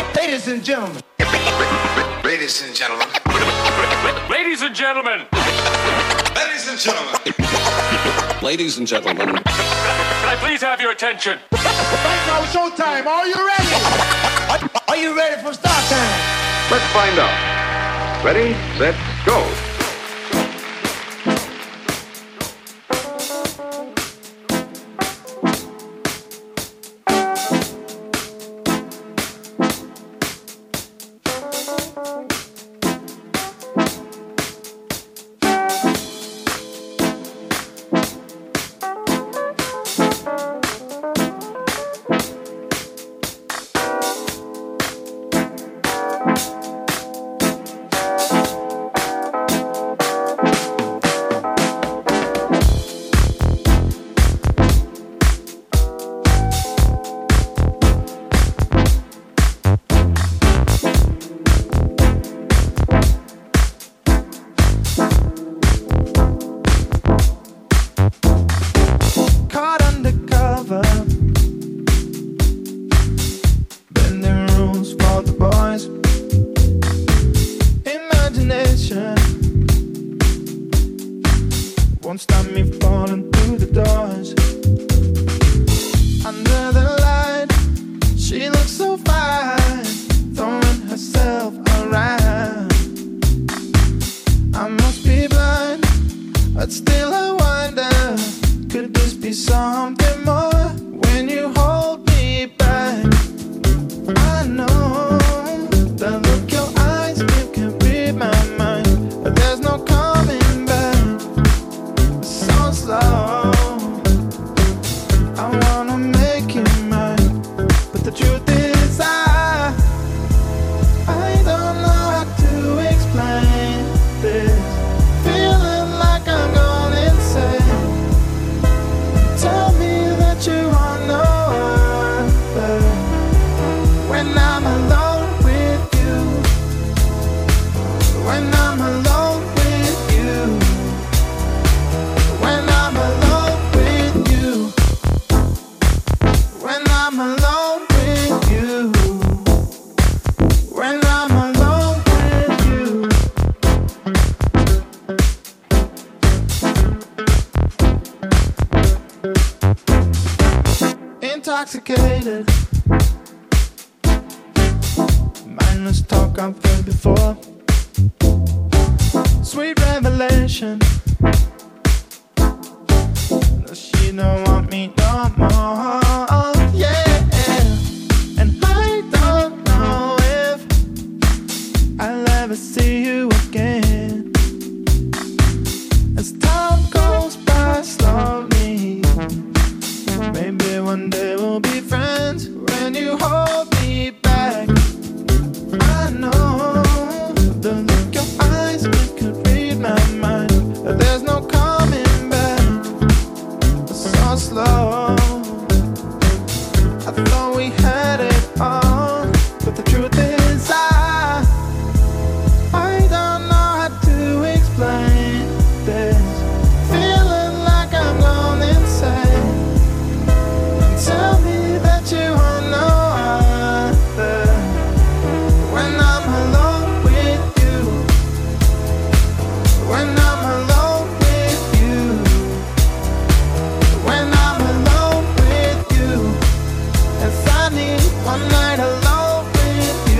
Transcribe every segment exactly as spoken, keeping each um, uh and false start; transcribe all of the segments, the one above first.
Ladies and gentlemen. Ladies and gentlemen. Ladies and gentlemen. Ladies and gentlemen. Ladies and gentlemen. Can I please have your attention? Right now, showtime. Are you ready? Are you ready for start time? Let's find out. Ready, set, go. Intoxicated. Mindless talk I've heard before. Sweet revelation. She don't want me no more. Yeah. And I don't know if I'll ever see you again. As time goes by slowly, maybe one day we'll be friends. When you hold me back, I know the look your eyes, it could read my mind. There's no coming back, so slow. I thought we had it all, but the truth is I I don't know how to explain this. Feeling like I'm going insane. Tell me that you are no other. When I'm alone with you, when I'm alone with you, when I'm alone with you, if I need one night alone with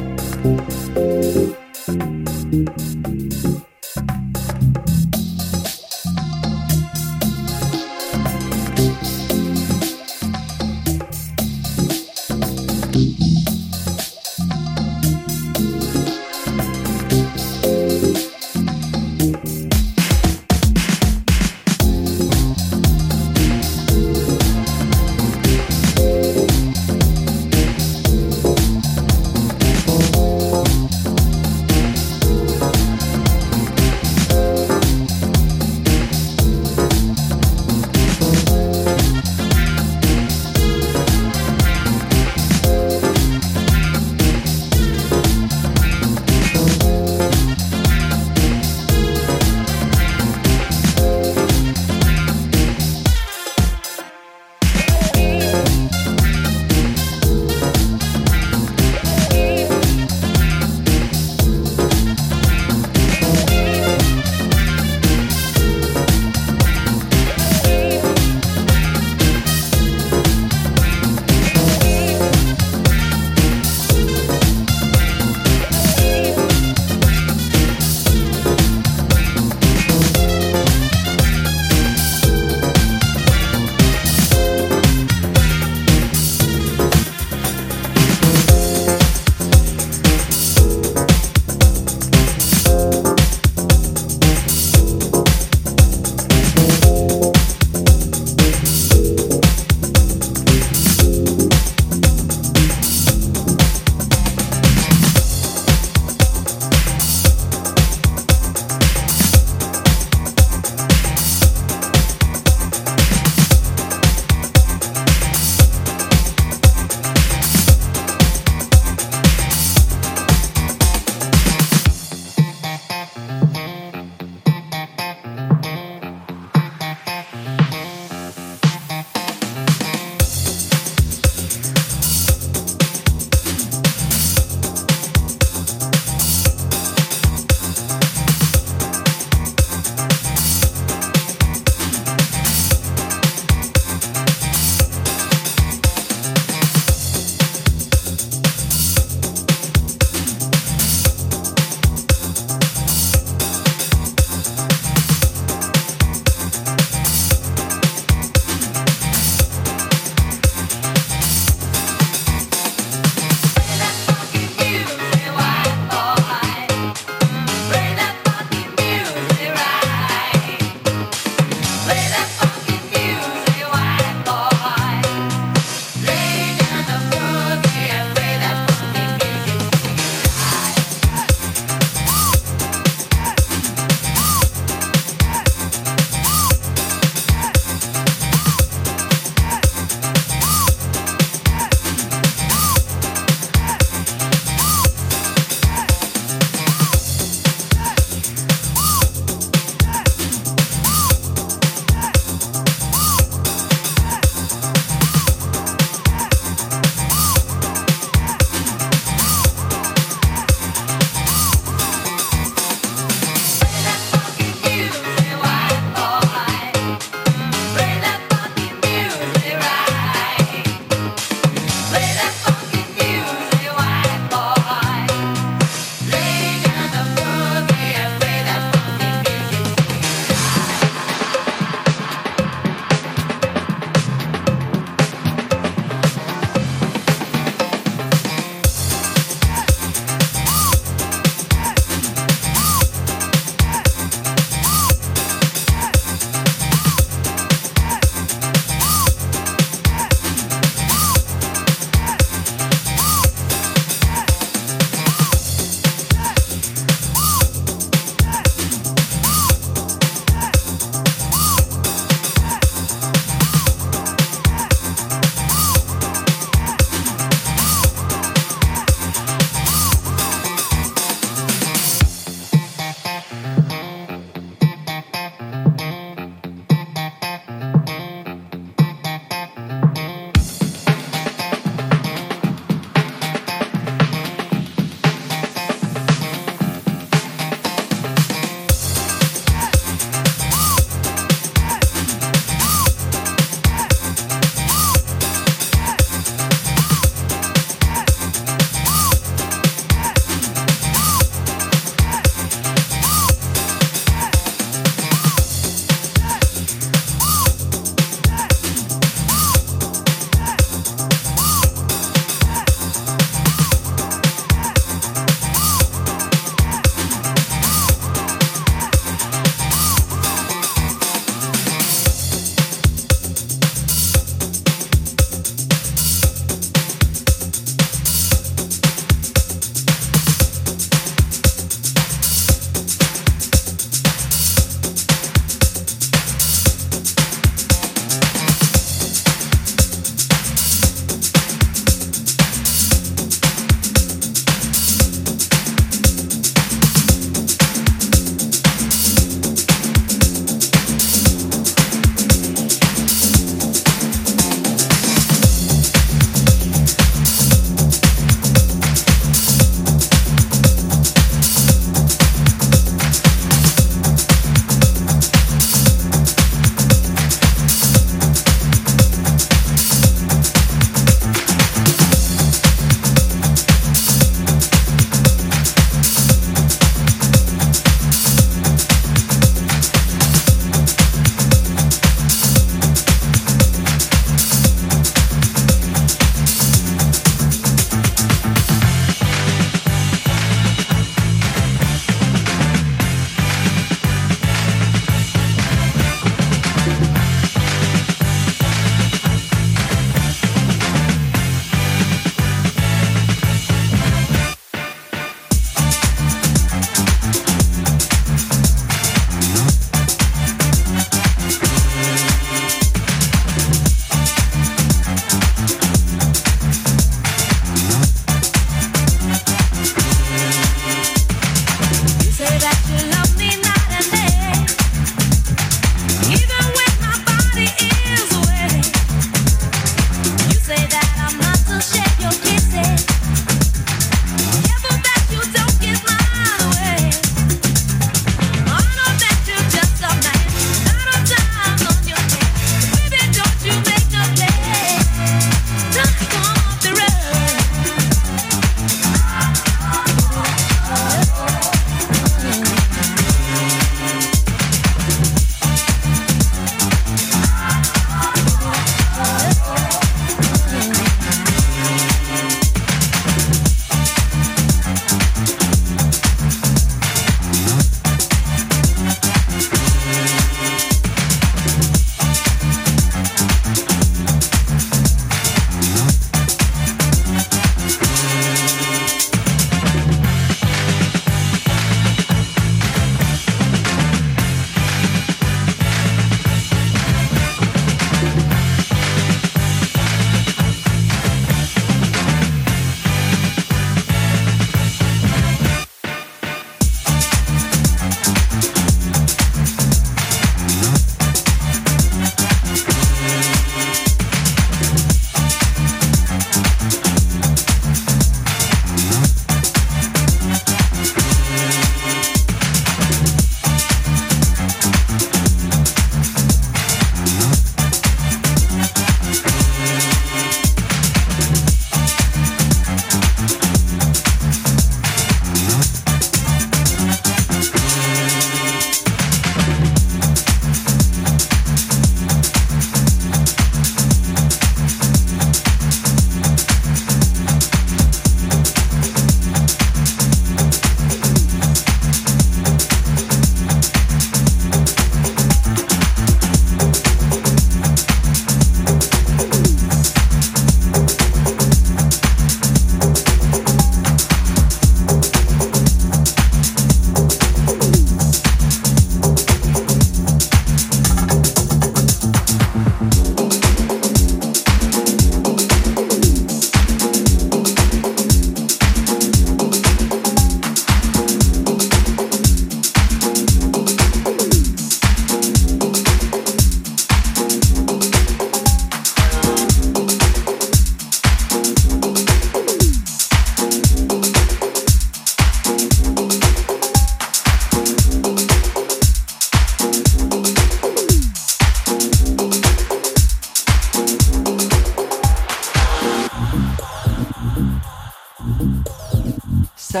So,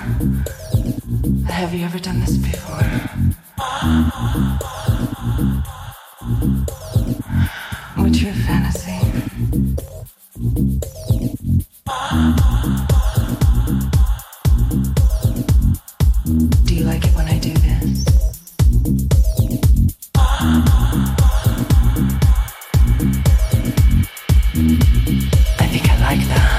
have you ever done this before? What's your fantasy? Do you like it when I do this? I think I like that.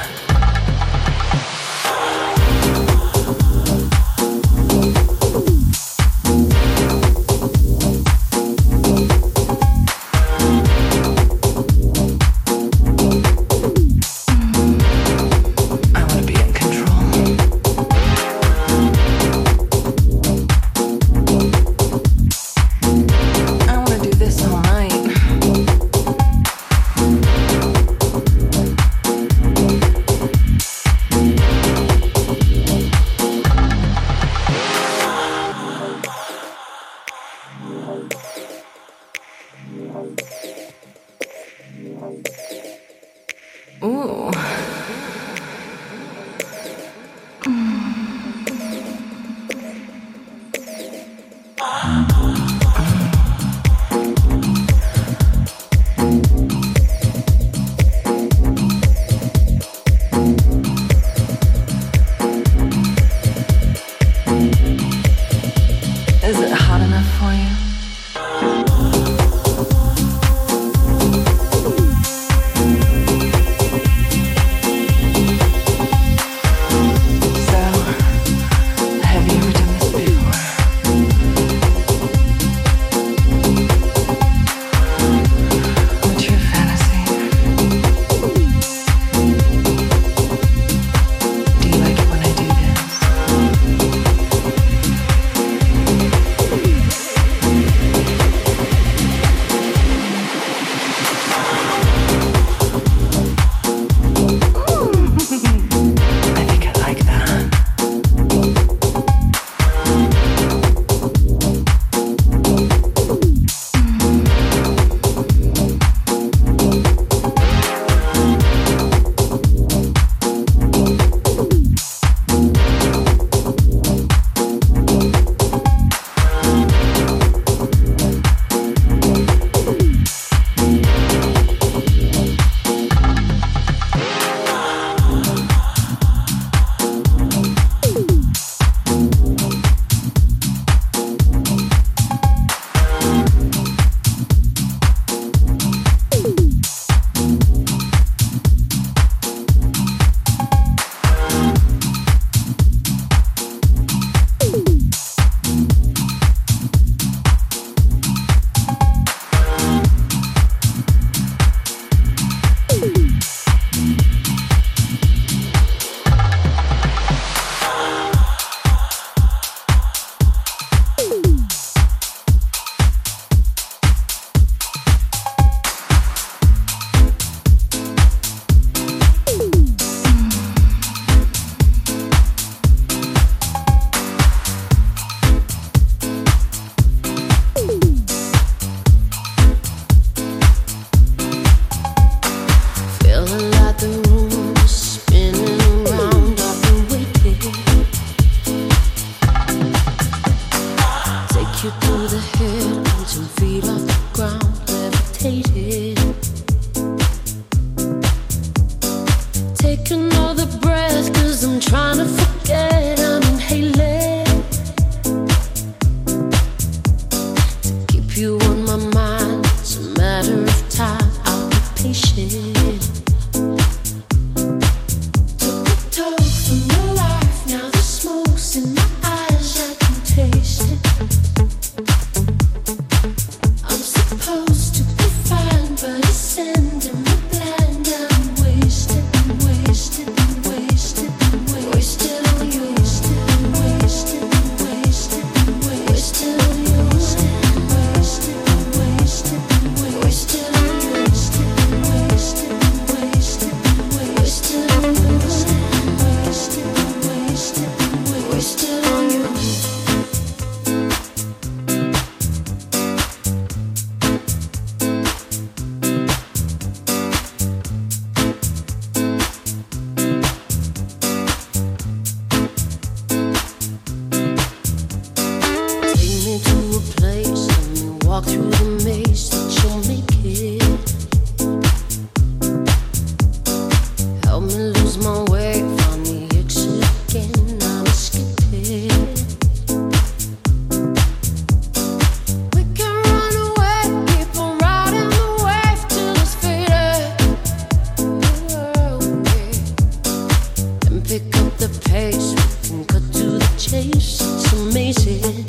pace and cut to the chase. It's amazing.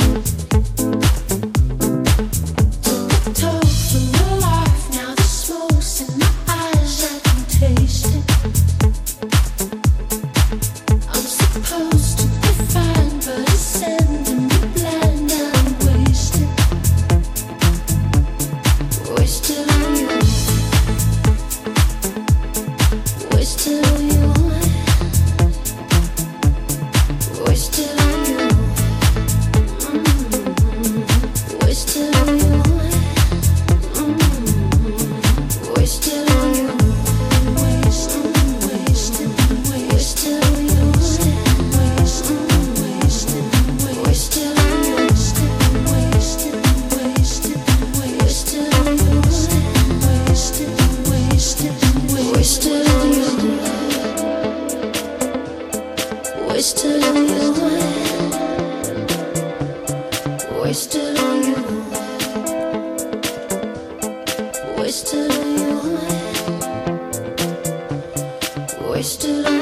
Took a toll from your life. Now the smoke's in my eyes. I can taste it. I'm supposed to be fine, but it's sending me blind. I'm wasted. Wasted on you. Wasted on you. Wasted on you. Mm-hmm. Wasted on you. Mm-hmm. Wasted on you. Wasted, wasted, wasted on you. Wasted, wasted, wasted on you. Wasted, wasted, wasted on you. Wasted, wasted, wasted on you. Wasted on you. Wasted on you. Wasted on you. Wasted on you.